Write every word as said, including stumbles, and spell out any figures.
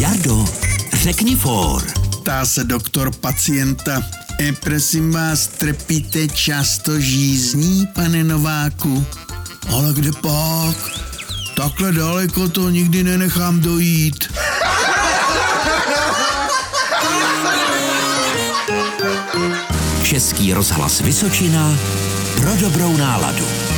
Jardo, řekni for. Ptá se doktor pacienta. E, prosím vás, trpíte často žízní, pane Nováku? Ale kde pak? Takhle daleko to nikdy nenechám dojít. Český rozhlas Vysočina pro dobrou náladu.